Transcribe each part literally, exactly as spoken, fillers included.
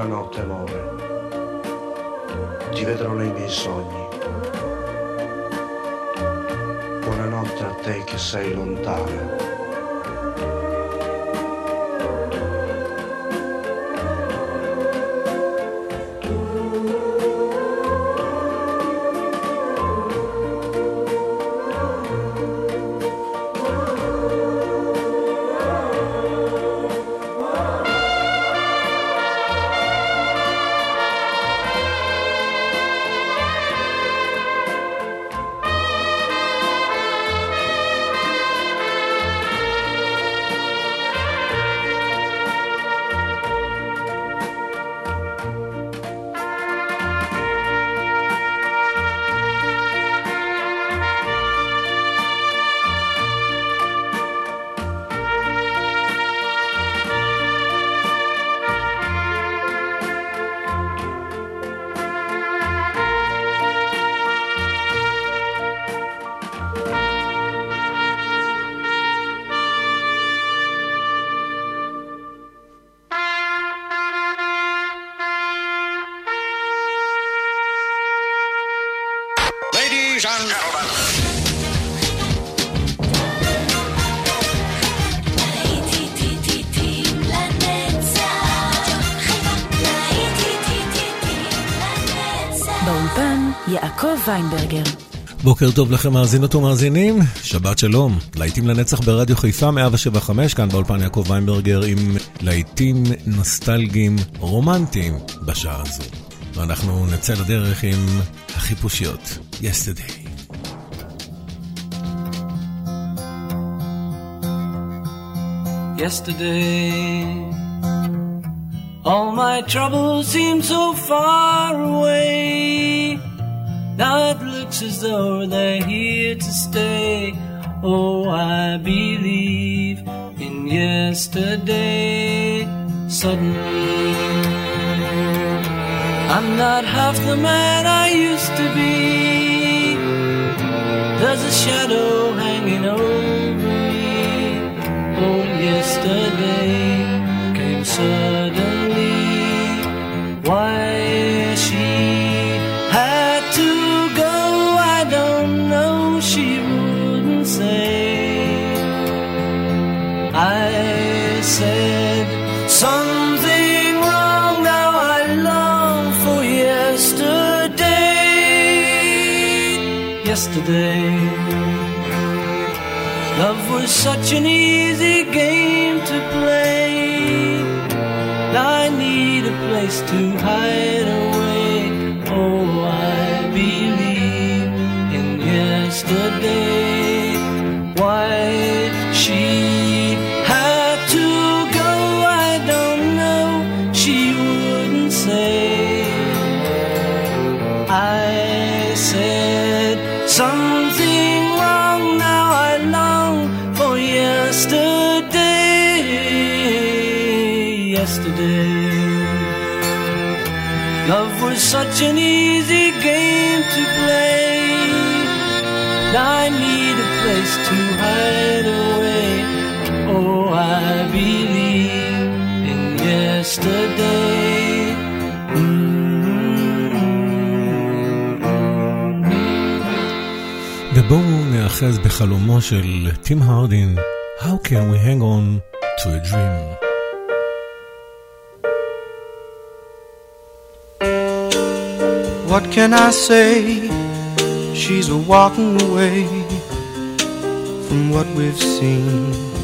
Buonanotte amore, ti vedrò nei miei sogni. Buonanotte a te che sei lontana. יעקב ויינברגר. בוקר טוב לכם מאזינות ומאזינים, שבת שלום, להיטים לנצח ברדיו חיפה מאה שבע חמש, כאן באולפן יעקב ויינברגר עם להיטים נוסטלגיים רומנטיים בשעה הזו. ואנחנו נצא לדרך עם החיפושיות, Yesterday. Yesterday, all my troubles seem so far away. Now it looks as though they're here to stay. Oh, I believe in yesterday. Suddenly, I'm not half the man I used to be. There's a shadow hanging over me. Oh, yesterday came suddenly. Why she had to go, I don't know, she wouldn't say. I said something wrong, now I long for yesterday. Yesterday, love was such an easy game to play. Now I need a place to hide away. Oh, I believe in yesterday. Why she had to go, I don't know, she wouldn't say. I said something wrong, now I long for yesterday. Yesterday, love was such an easy game to play. Now I need a place to hide away. Oh, I believe in yesterday. ובואו נאחז בחלומו של טים הרדין, How can we hang on to a dream? What can I say? She's a walking away from what we've seen.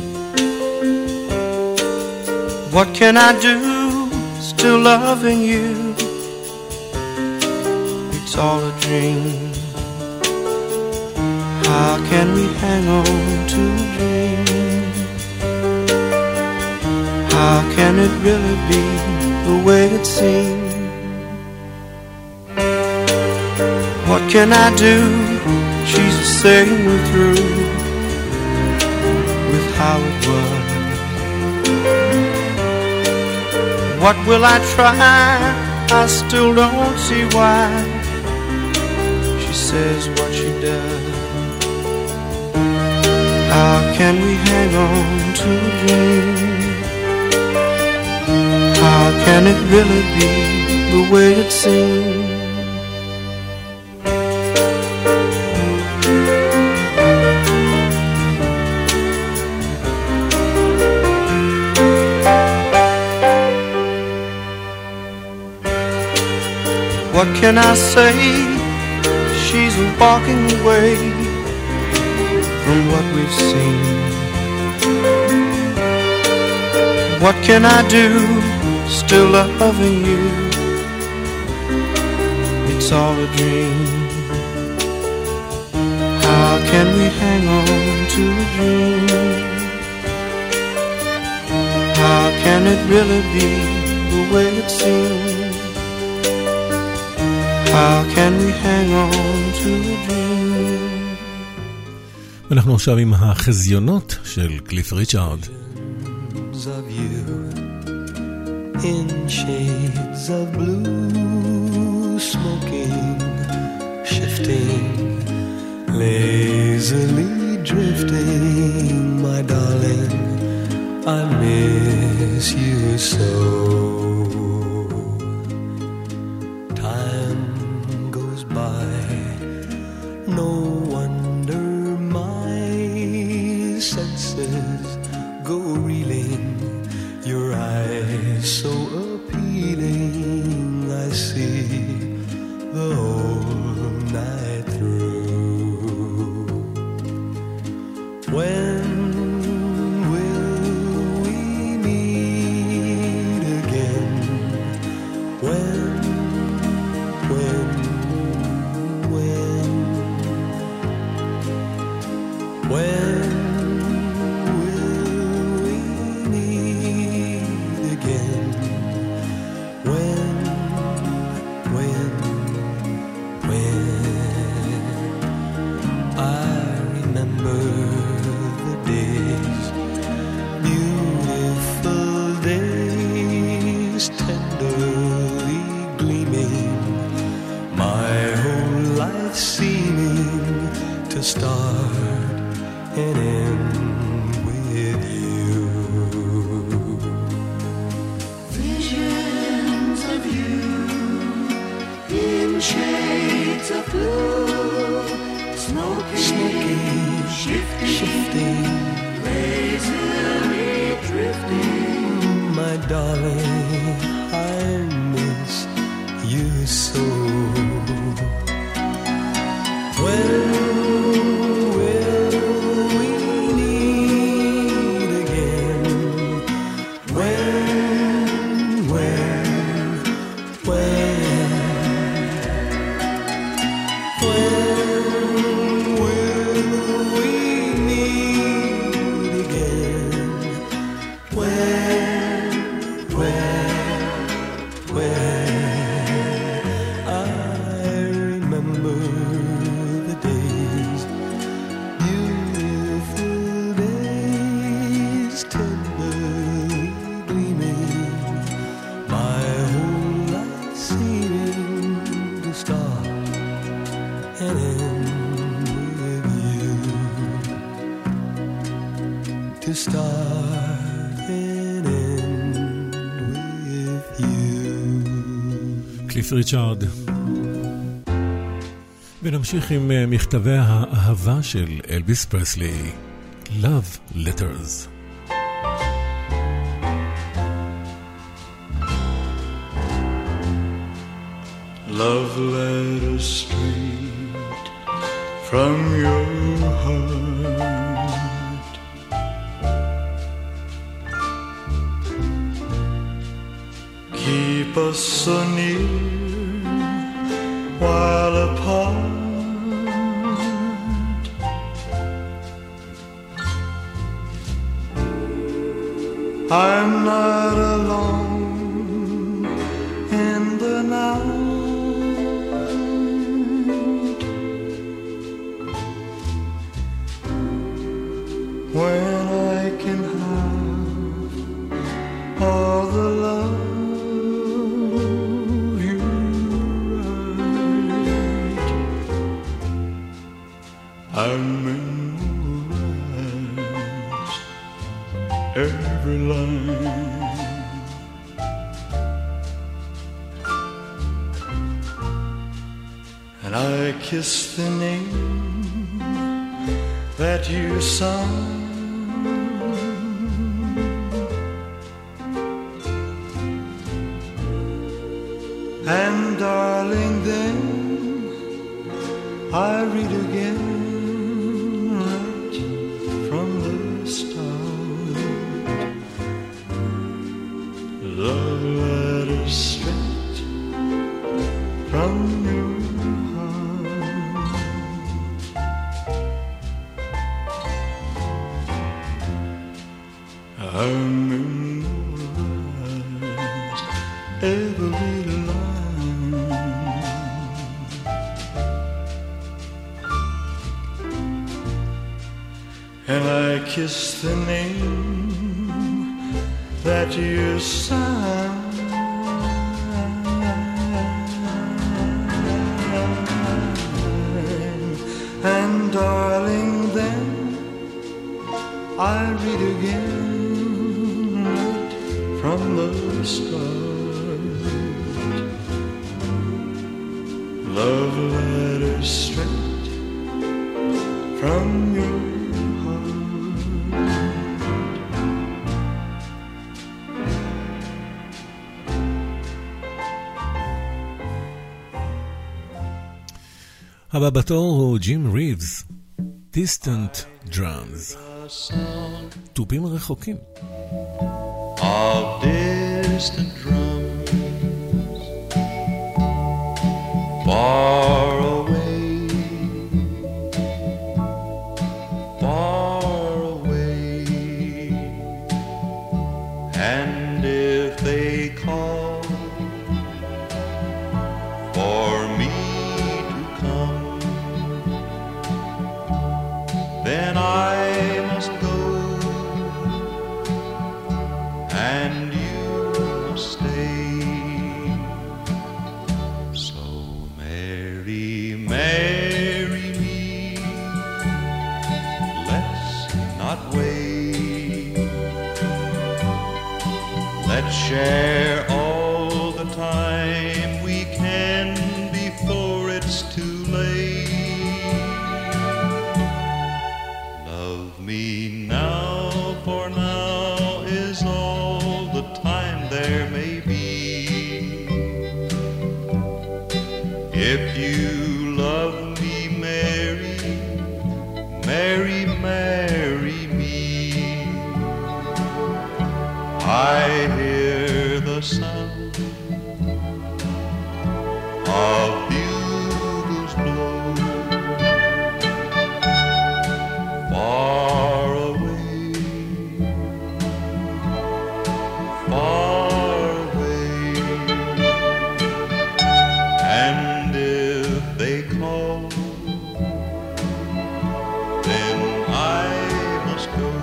What can I do? Still loving you. It's all a dream. How can we hang on to a dream? How can it really be the way it seems? What can I do? She's saying we're through with how it was. What will I try? I still don't see why she says what she does. How can we hang on to a dream? How can it really be the way it seems? What can I say? She's walking away from what we've seen. What can I do? Still loving you. It's all a dream. How can we hang on to a dream? How can it really be the way it seems? How can we hang on to a dream? אנחנו עכשיו עם החזיונות של קליף ריצ'ארד. Of you in shades of blue, smoking, shifting, lazily drifting, my darling, I miss you so. Time goes by, no wonder my senses go reeling. Your eyes so appealing, I see the whole night through. When will we meet again? When, when, when, when? Start and end with you. Visions of you in shades of blue, smoking, smoking, shifting, shifting, lazily drifting. My darling, I miss you so. When קליף ריצ'ארד. ונמשיך עם מכתבי האהבה של אלביס פרסלי, Love Letters. Love letters straight from your heart, keep us so near while apart. I'm not alone in the night when I can have all the love I memorize every line. and I kiss the name that you signed. And darling, then I read again right from the start. Love letters straight from your heart. I memorize every line, and I kiss the name that you signed. And darling, then I read again right from the start. Love letters straight from your הבא בתור הוא ג'ים ריבס, Distant Drums, טובים רחוקים. Of distant drums far away, far away, and if they call for me to come, then I must go, and you must stay. So marry, marry me, let's not wait. Let's share all the time we can before it's too late. Love me now, for now is all the time there may be. If you love me, marry, marry, marry me. I hear the sound of bugles blow far away, far away, and if they call, then I must go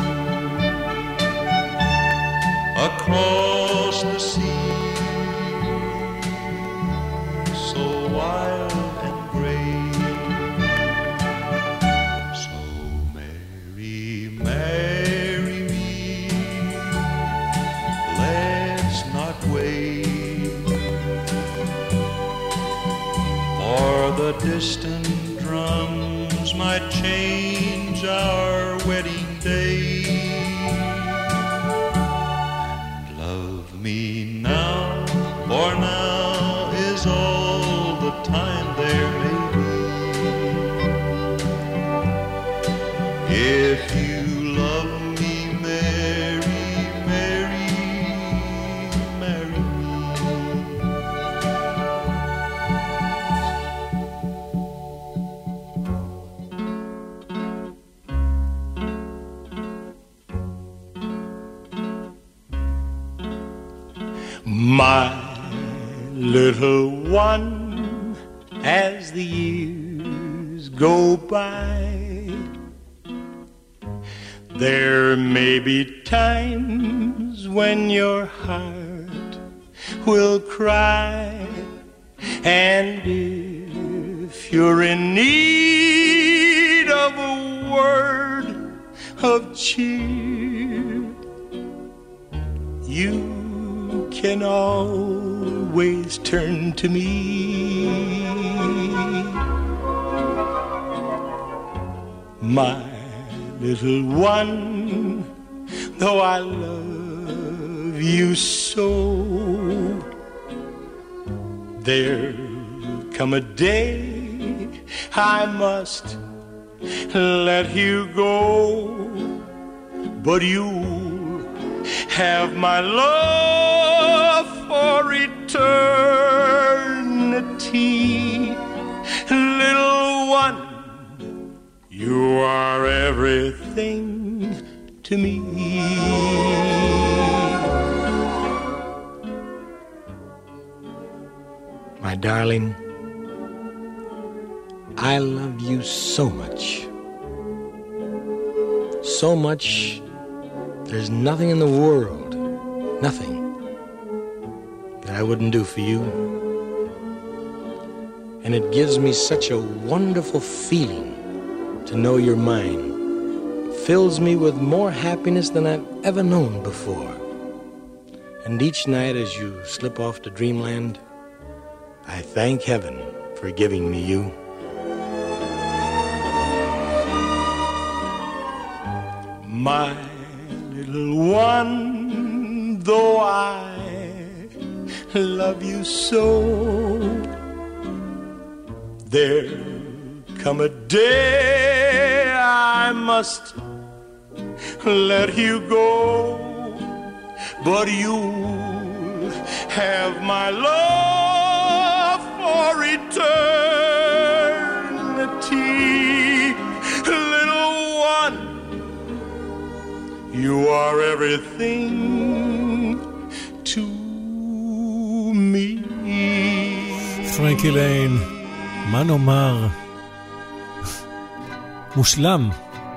across the sea, so wild and gray. So marry, marry me, let's not wait, for the distant drums might change our wedding day. Love me now, for now is all the time there may be. If you love me, marry, marry, marry me. My little one, as the years go by, there may be times when your heart will cry, and if you're in need of a word of cheer, you can always always turn to me. My little one, though I love you so, there'll come a day I must let you go, but you'll have my love for eternity. Little one, you are everything to me. My darling, I love you so much. So much, there's nothing in the world, nothing, that I wouldn't do for you. And it gives me such a wonderful feeling to know you're mine. Fills me with more happiness than I've ever known before. And each night as you slip off to dreamland, I thank heaven for giving me you. My little one, though I love you so, there'll come a day I must let you go, but you'll have my love for eternity. Little one, you are everything to me. פרנקי ליין, מה נאמר? מושלם.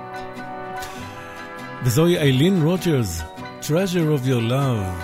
וזוהי איילין רוג'רס, Treasure of Your Love.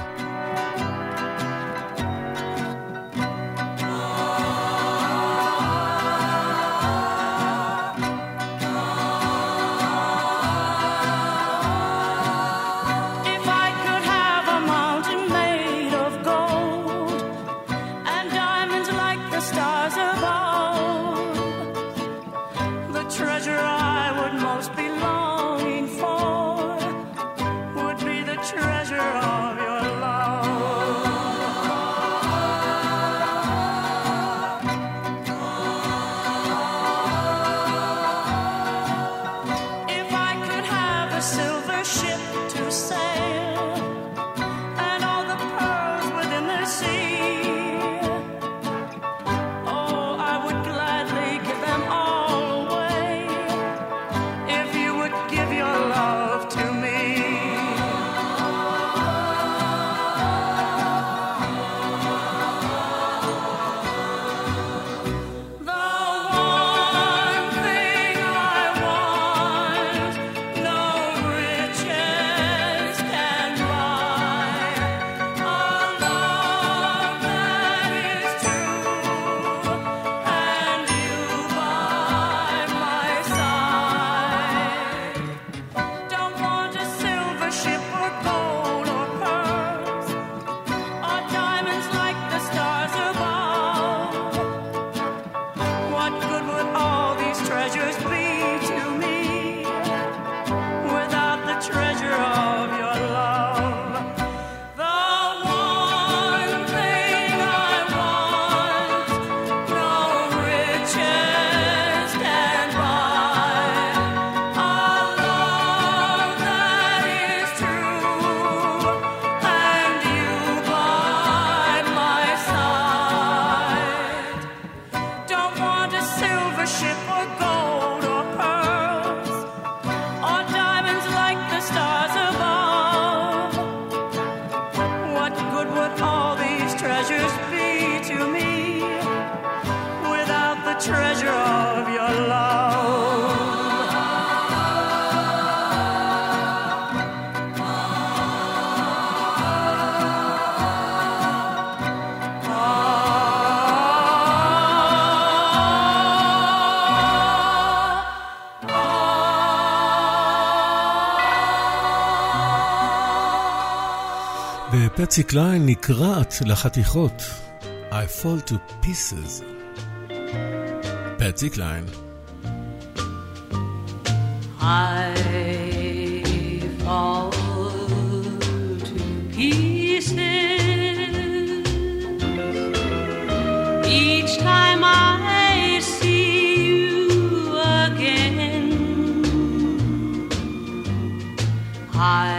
ופצי קליין נקרעת לחתיכות I fall to pieces. Patsy Cline. I fall to pieces each time I see you again. I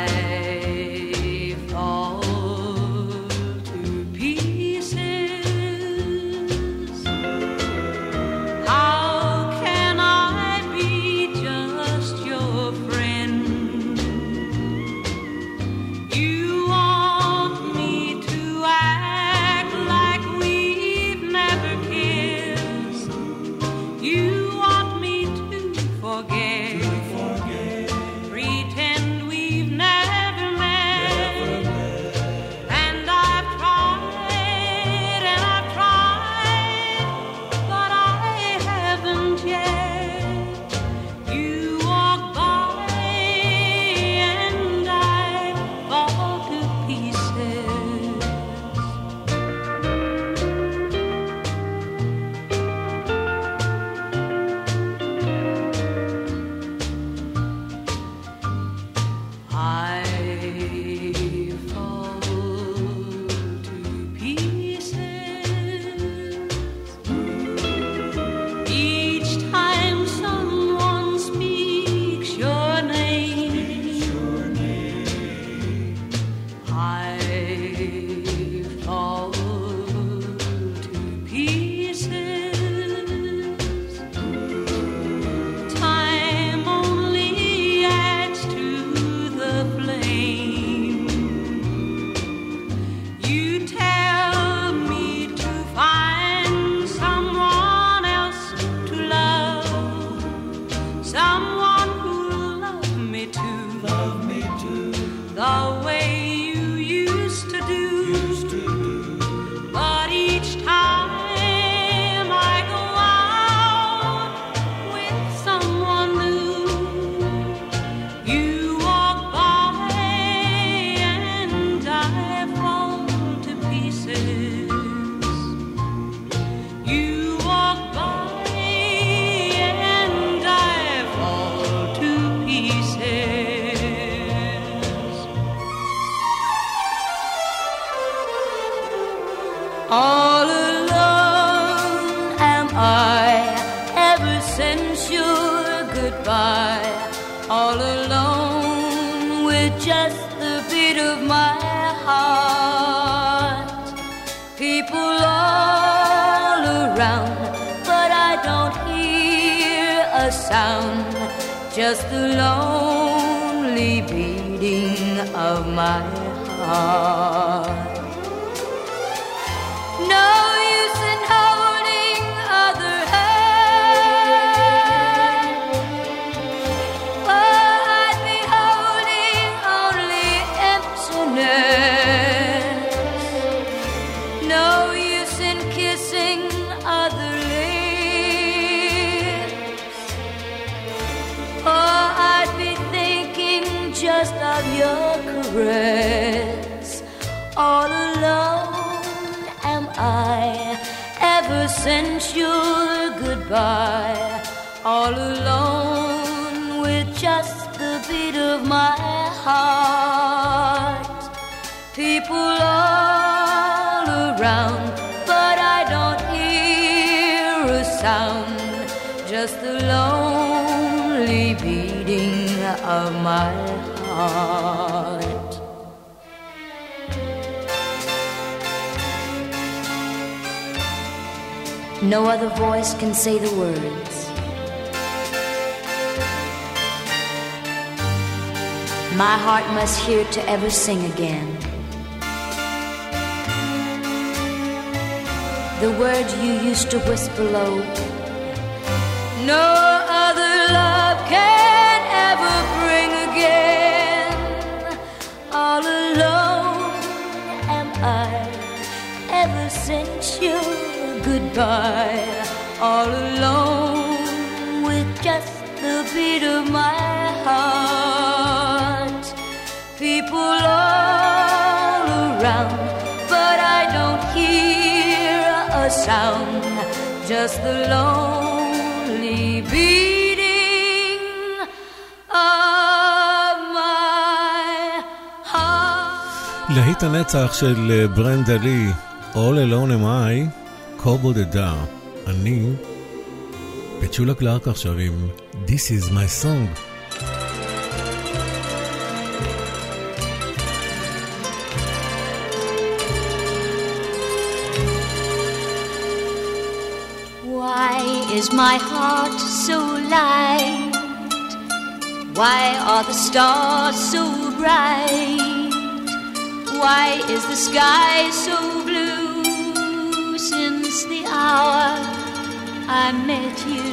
All alone am I ever since your goodbye. All alone with just the beat of my heart. People all around, but I don't hear a sound. Just the lonely beating of my heart. No use in holding other hand, for I'd be holding only emptiness. No use in kissing other lips, for I'd be thinking just of your caress. All alone I, ever since your goodbye, all alone with just the beat of my heart. People all around, but I don't hear a sound. Just the lonely beating of my heart. No other voice can say the words. My heart must hear to ever sing again. The words you used to whisper low. No other love can ever bring again. All alone am I ever since you goodbye, all alone with just the beat of my heart. People all around, but I don't hear a sound, just the lonely beating of my heart. להיט הנצח של ברנדה לי, All Alone Am I, כה בודדה, אני, פצ'ולה קלארק עכשיו עם This is my song. Why is my heart so light? Why are the stars so bright? Why is the sky so blue since the hour I met you?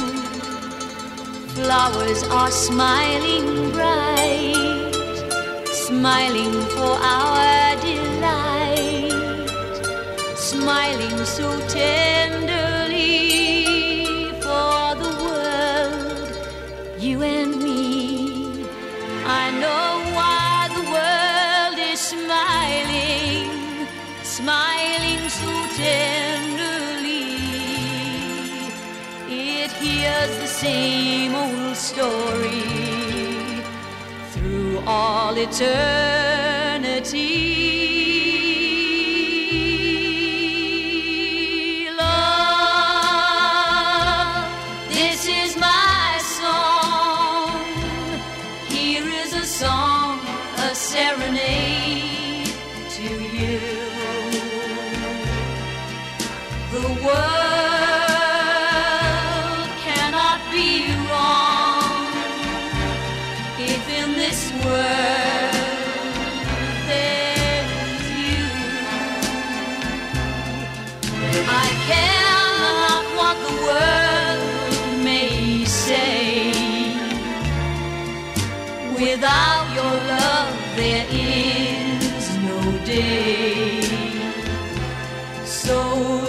Flowers are smiling bright, smiling for our delight, smiling so tenderly for the world, you and me. I know why the world is smiling, smiling so tenderly. It hears the same old story through all eternity. Love, this is my song. Here is a song, a serenade to you. The world cannot be wrong if in this world there's you. I care not what the world may say. Without your love there is no day. So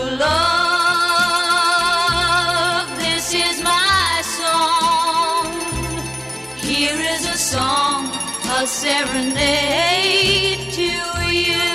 love, this is my song. Here is a song, a serenade to you.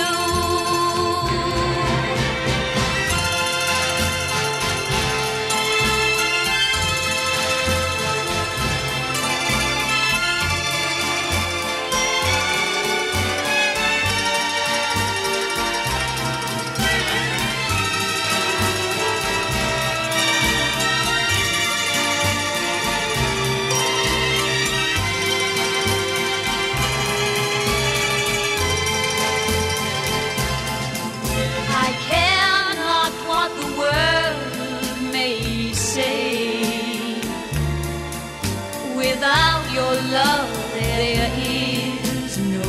Without your love there is no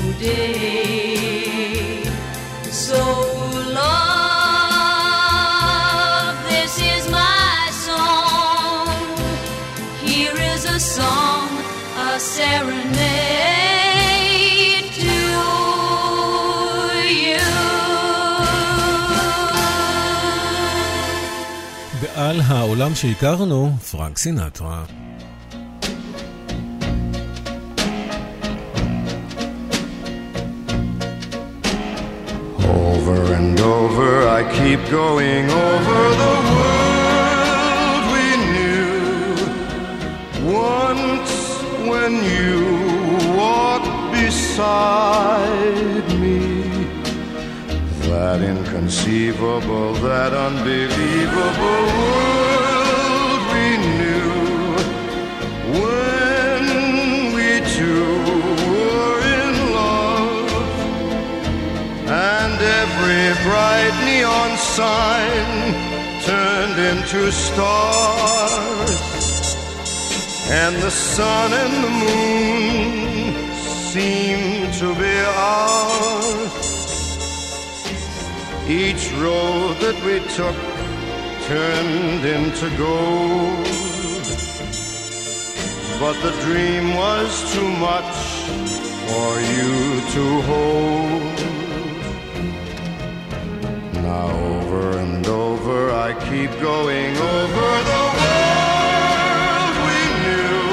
day. So love, this is my song. Here is a song, a serenade to you. ועל העולם שהכרנו, פרנק סינטרה. Over and over I keep going over the world we knew. Once when you walked beside me, that inconceivable, that unbelievable world we knew. When we two were in love, and every bright neon sign turned into stars, and the sun and the moon seemed to be ours. Each road that we took turned into gold, but the dream was too much for you to hold. Now over and over I keep going over the world we knew.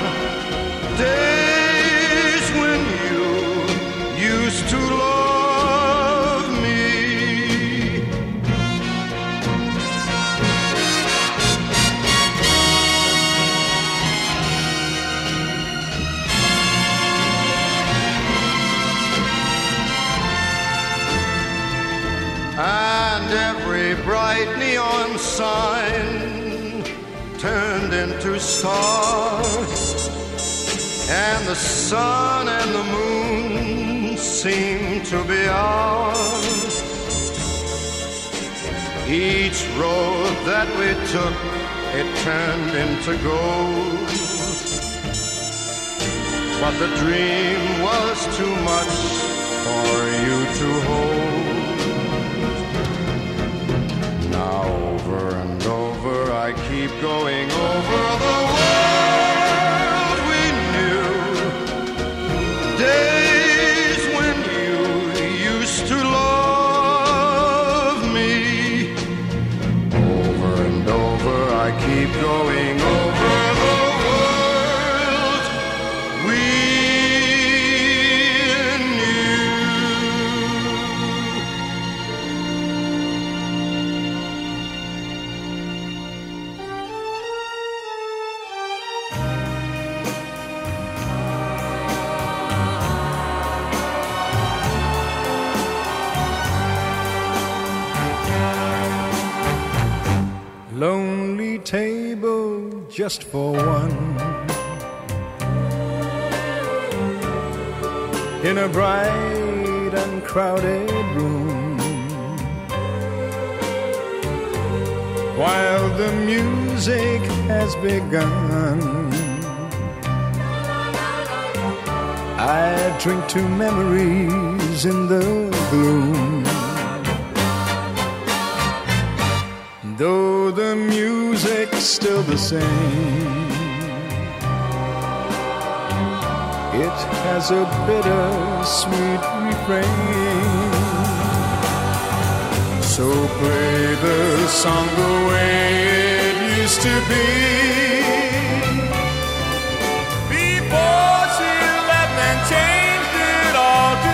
Days when you used to love me, turned into stars, and the sun and the moon seemed to be ours. Each road that we took, it turned into gold, but the dream was too much for you to hold. Now over and over I keep going over the world we knew, days when you used to love me. Over and over I keep going over the world we lonely table just for one, in a bright and crowded room, while the music has begun. I drink to memories in the gloom, though the music's still the same. It has a bitter-sweet refrain. So play the song the way it used to be, before she left and changed it all to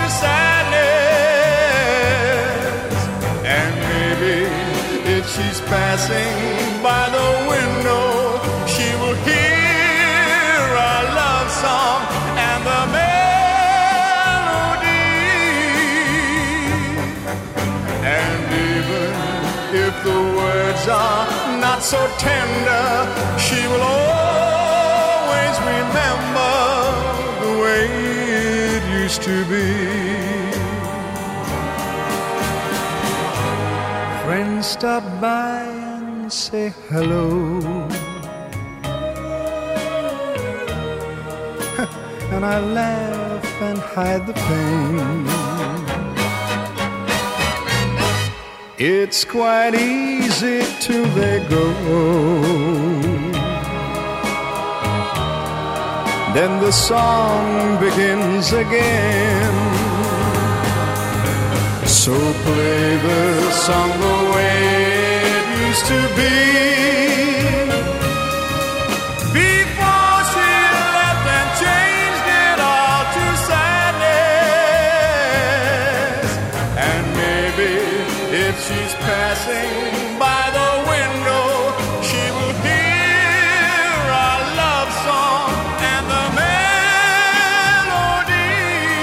sadness. And maybe if she's passing by the window, she will hear our love song and the melody. And even if the words are not so tender, she will always remember the way it used to be. Friends stop by and say hello, and I laugh and hide the pain. It's quite easy till they go, then the song begins again. So play the song the way it used to be, before she left and changed it all to sadness. And maybe if she's passing by the window, she will hear our love song and the melody.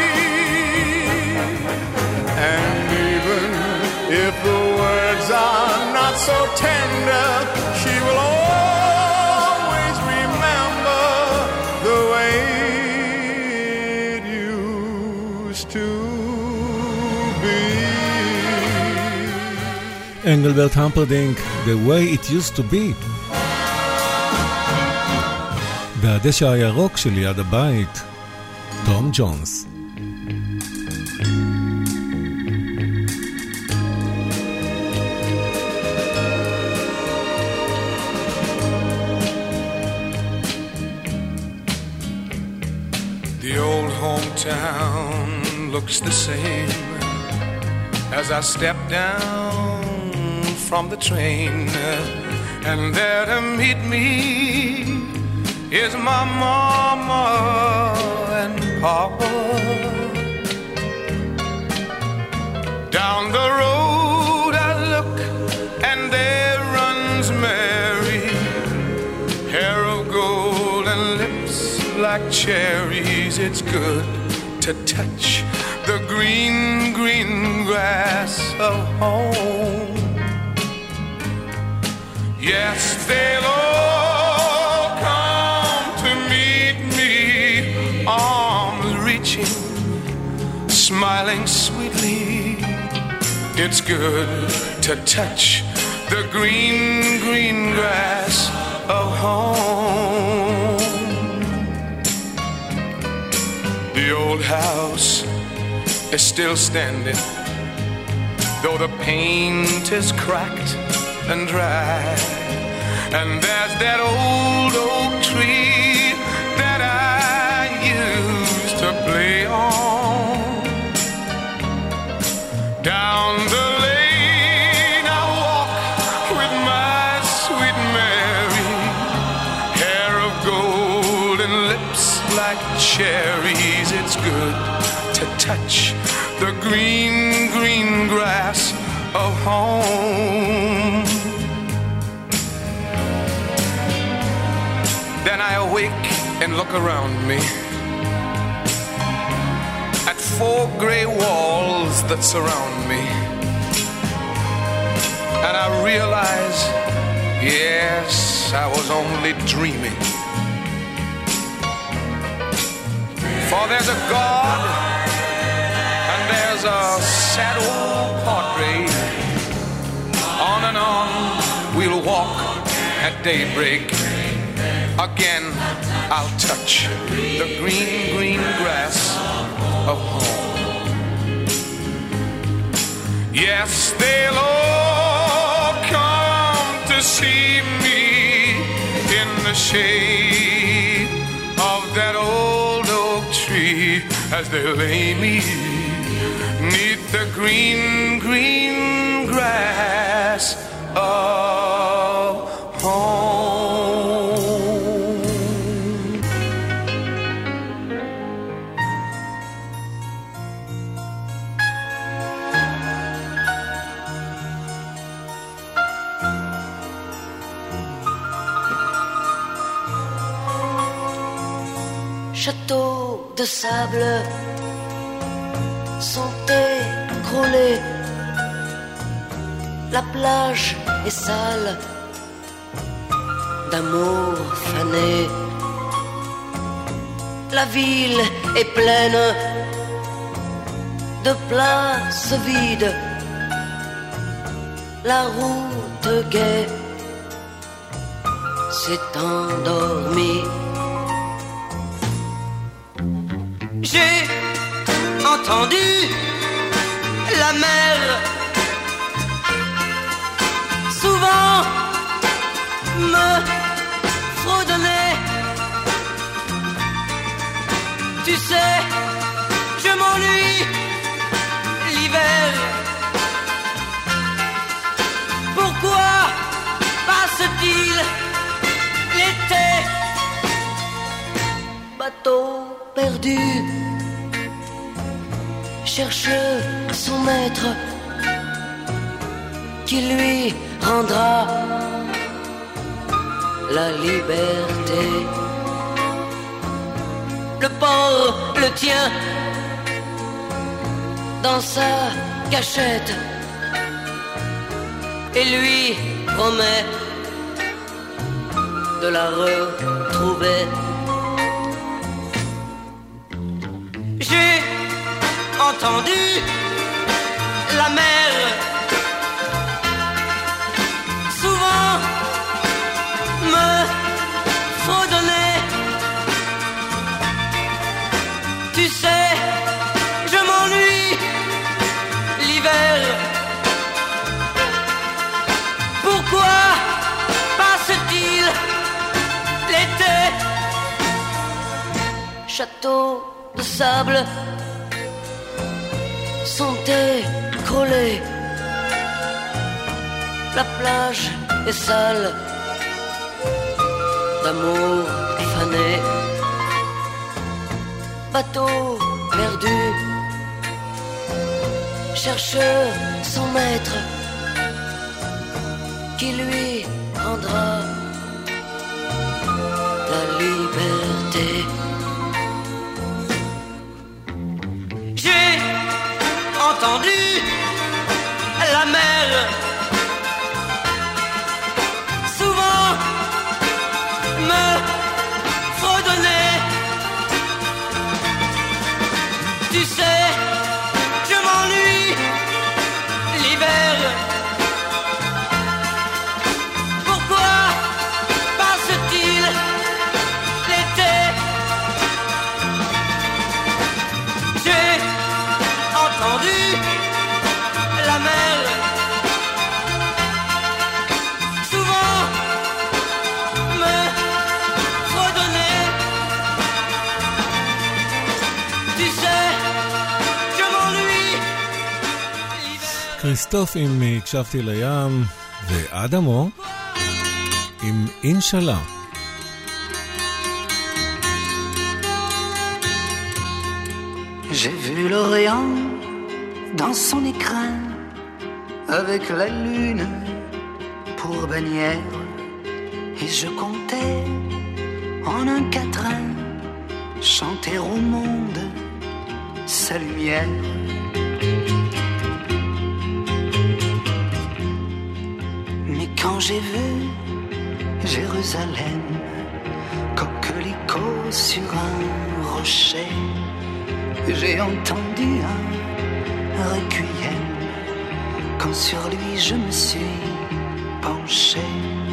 And if the words are not so tender, she will always remember the way it used to be. Engelbert Humperdinck, The Way It Used to Be. והדשא הירוק שליד הבית, תום ג'ונס. The old hometown looks the same as I step down from the train, and there to meet me is my mama and papa. Down the road I look, and there runs Mary, hair of gold and lips like cherries. It's good to touch the green, green grass of home. Yes, they'll all it's good to touch the green, green grass of home. The old house is still standing, though the paint is cracked and dry. And there's that old oak tree that I used to play on. Down the lane I walk with my sweet Mary, hair of gold and lips like cherries. It's good to touch the green, green grass of home. Then I awake and look around me at four gray walls that surround me, and I realize, yes, I was only dreaming. For there's a God and there's a sad old portrait. On and on we'll walk at daybreak. Again I'll touch the green, green grass of home. Yes, they'll all come to see me in the shade of that old oak tree as they lay me neath the green, green grass of home. Châteaux de sable sont écroulés, la plage est sale d'amour fané, la ville est pleine de places vides, la route gaie s'est endormie. J'ai entendu la mer souvent me fredonner. Tu sais, je m'ennuie l'hiver. Pourquoi passe-t-il l'été? Bateau perdu cherche son maître qui lui rendra la liberté. Le port le tient dans sa cachette et lui promet de la retrouver. J'ai entendu la mer souvent me fredonner. Tu sais, je m'ennuie l'hiver. Pourquoi passe-t-il l'été? Château de sable sont écroulés, la plage est sale d'amour fané, bateau perdu cherche son maître qui lui rendra la liberté. Entendu la mer souvent me fredonner. Tu sais, je m'ennuie כריסטוף עם הקשבתי לים, ואדמו עם אינשאללה. J'ai vu l'Orient dans son écrin, avec la lune pour bannière, et je comptais en un quatrain chanter au monde sa lumière. Mais quand j'ai vu Jérusalem, coquelicot sur un rocher, j'ai entendu un requiem, quand sur lui je me suis penché.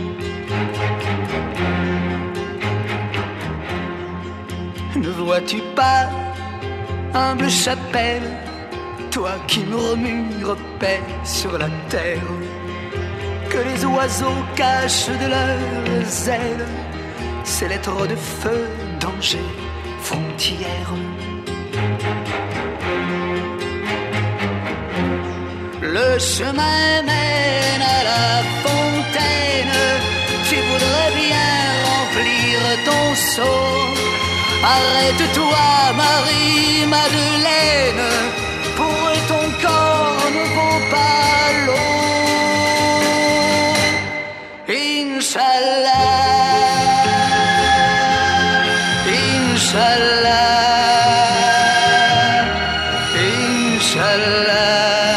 Ne vois-tu pas, humble chapelle, toi qui murmures paix sur la terre, que les oiseaux cachent de leurs ailes ces lettres de feu, danger, frontière. Le chemin mène à la fontaine, tu voudrais bien remplir ton seau. Arrête-toi, Marie-Madeleine, pour ton corps ne vaut pas l'eau. Inch'Allah, Inch'Allah, Inch'Allah,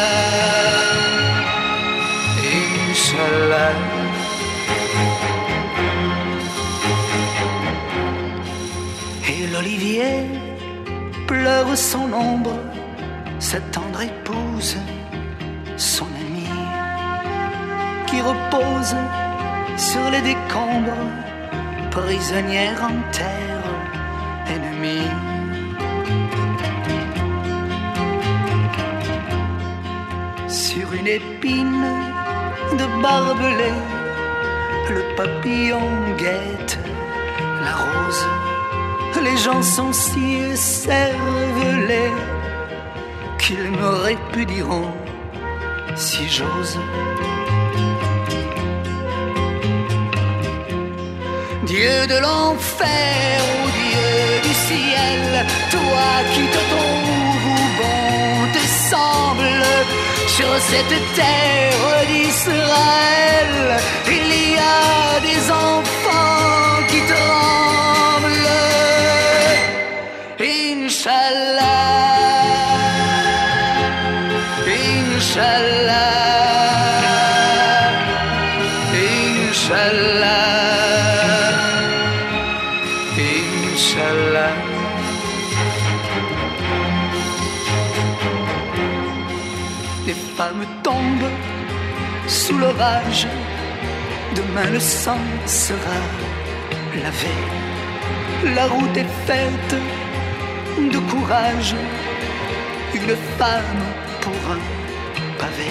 Inch'Allah. Et l'olivier pleure son ombre, sa tendre épouse, son amie, qui repose sur les décombres, prisonnière en terre ennemie. Sur une épine de barbelé, le papillon guette la rose. Les gens sont si cervelés qu'ils me répudieront si j'ose. Dieu de l'enfer ou Dieu du ciel, toi qui te trouves où bon te semble, sur cette terre d'Israël, il y a des enfants qui tremblent. Inch'Allah, Inch'Allah, Inch'Allah, Inch'Allah. Les femmes tombent sous l'orage, demain le sang sera lavé. La route est faite de courage, une femme pour un pavé.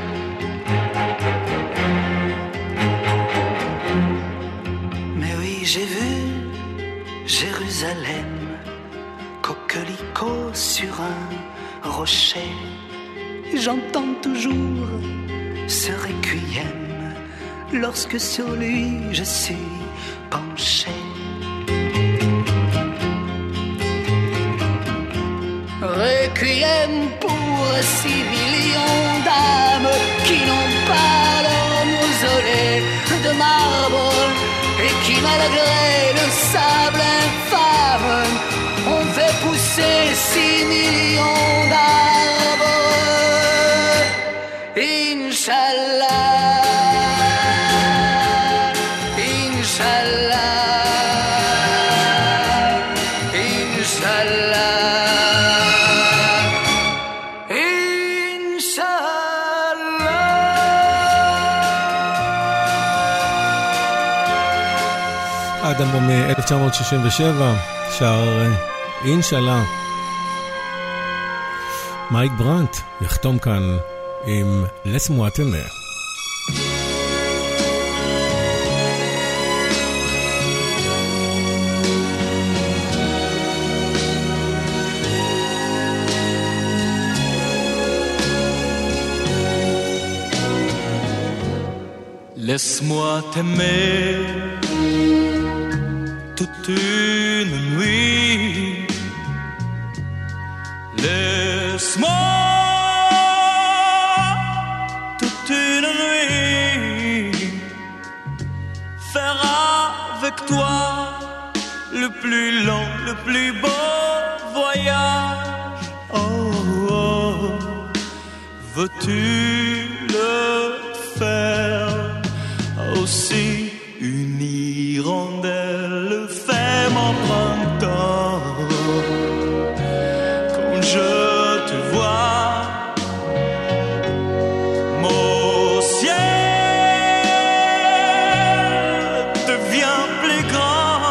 Mais oui, j'ai vu Jérusalem, coquelicot sur un rocher. J'entends toujours ce requiem lorsque sur lui je suis penché. Requiem pour six millions d'âmes qui n'ont pas leur mausolée de marbre et qui, malgré le sable infâme, ont fait pousser six millions d'arbres. Inch'Allah, Inch'Allah, Inch'Allah. אדמו מ-אלף תשע מאות שישים ושבע, שר אינשאללה. מייק ברנט יחתום כאן עם לסמו אטנה. Laisse-moi t'aimer toute une nuit. Laisse-moi toute une nuit faire avec toi le plus long, le plus beau voyage. Oh, oh. Veux-tu le faire aussi? Une hirondelle fait mon printemps. Quand je te vois, mon ciel devient plus grand.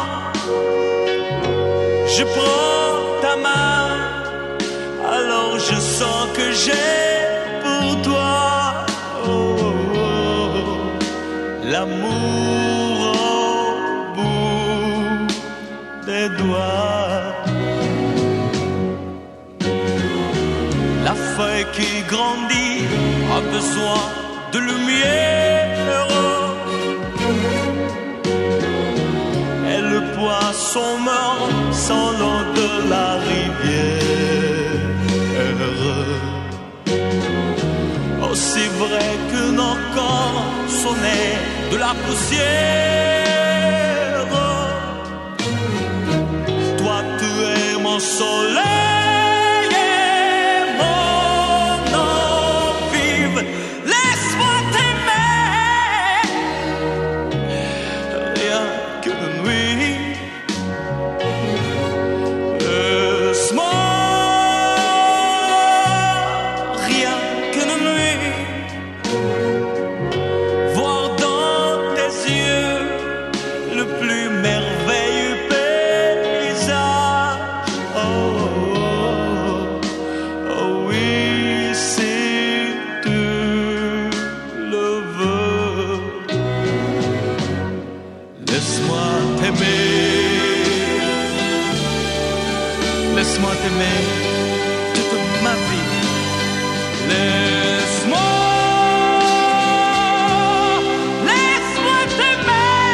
Je prends ta main, alors je sens que j'ai pour toi oh, oh, oh, l'amour au bout des doigts. La feuille qui grandit a besoin de lumière. Et le poisson meurt sans l'eau de la rivière. Aussi vrai que nos corps sont nés de la poussière. Toi tu es mon soleil et mon eau vive. Laisse-moi t'aimer rien qu'une nuit. Laisse-moi rien qu'une nuit voir dans tes yeux le plus merveilleux paysage. Oh, oh, oh oui, si tu le veux. Laisse-moi t'aimer. Laisse-moi t'aimer toute ma vie. Laisse-moi, laisse-moi t'aimer,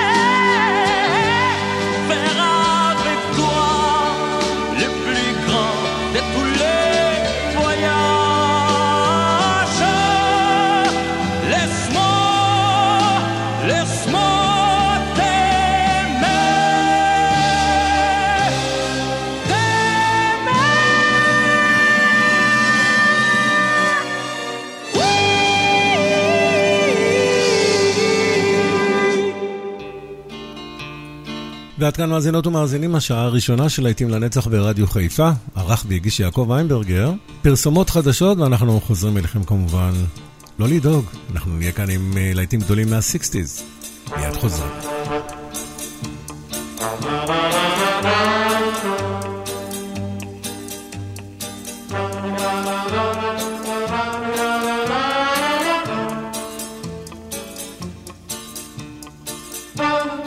faire avec toi le plus grand de tous les voyages. Laisse-moi, laisse-moi ועד כאן מאזינות ומאזינים, השעה הראשונה של להיטים לנצח ברדיו חיפה, ערך והגיש יעקב ויינברגר. פרסומות חדשות ואנחנו חוזרים אליכם כמובן. לא לדאוג, אנחנו נהיה כאן עם להיטים גדולים מה-שישים. מיד חוזרים. Bye.